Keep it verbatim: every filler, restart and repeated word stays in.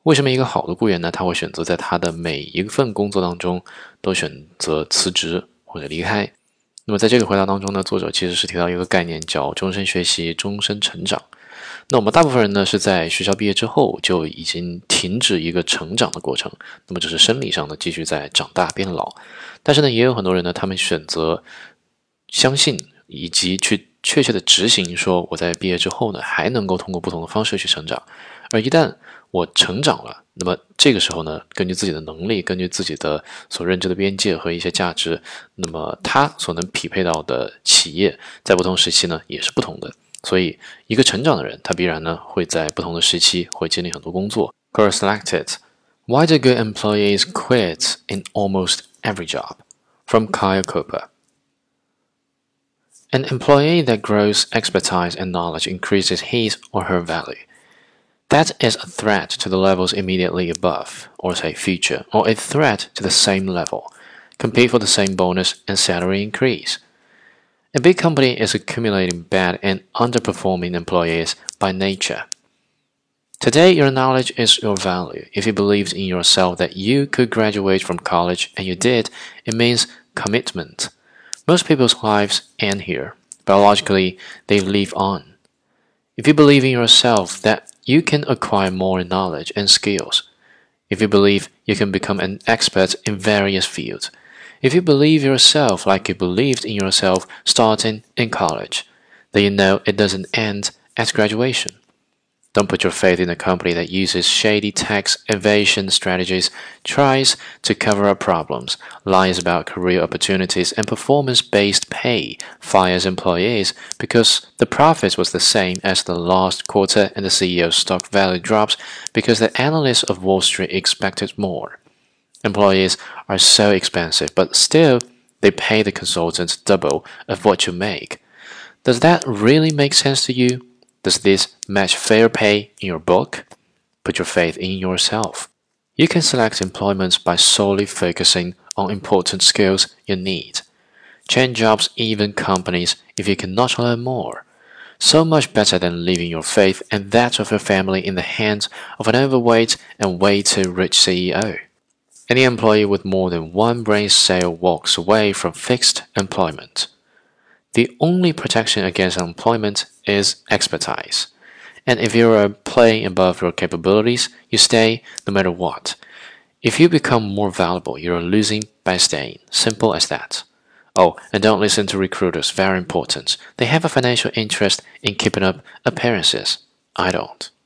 为什么一个好的雇员呢，他会选择在他的每一份工作当中都选择辞职或者离开？那么在这个回答当中呢，作者其实是提到一个概念叫终身学习、终身成长。那我们大部分人呢是在学校毕业之后就已经停止一个成长的过程，那么就是生理上的继续在长大变老。但是呢，也有很多人呢，他们选择相信以及去确切的执行，说我在毕业之后呢，还能够通过不同的方式去成长。而一旦我成长了，那么这个时候呢，根据自己的能力，根据自己的所认知的边界和一些价值，那么他所能匹配到的企业，在不同时期呢，也是不同的。所以，一个成长的人，他必然呢会在不同的时期会经历很多工作。Quote selected: Why do good employees quit in almost every job? From Kyle Cooper. An employee that grows expertise and knowledge increases his or her value. That is a threat to the levels immediately above, or say future, or a threat to the same level. Compete for the same bonus and salary increase.A big company is accumulating bad and underperforming employees by nature. Today, your knowledge is your value. If you believed in yourself that you could graduate from college and you did, it means commitment. Most people's lives end here. Biologically, they live on. If you believe in yourself that you can acquire more knowledge and skills, if you believe you can become an expert in various fields,If you believe yourself like you believed in yourself starting in college, then you know it doesn't end at graduation. Don't put your faith in a company that uses shady tax evasion strategies, tries to cover up problems, lies about career opportunities, and performance-based pay, fires employees because the profits was the same as the last quarter and the C E O's stock value drops because the analysts of Wall Street expected more.Employees are so expensive, but still, they pay the consultants double of what you make. Does that really make sense to you? Does this match fair pay in your book? Put your faith in yourself. You can select employment by solely focusing on important skills you need. Change jobs, even companies, if you cannot learn more. So much better than leaving your faith and that of your family in the hands of an overweight and way too rich C E O.Any employee with more than one brain cell walks away from fixed employment. The only protection against unemployment is expertise. And if you are playing above your capabilities, you stay no matter what. If you become more valuable, you are losing by staying. Simple as that. Oh, and don't listen to recruiters, very important. They have a financial interest in keeping up appearances. I don't.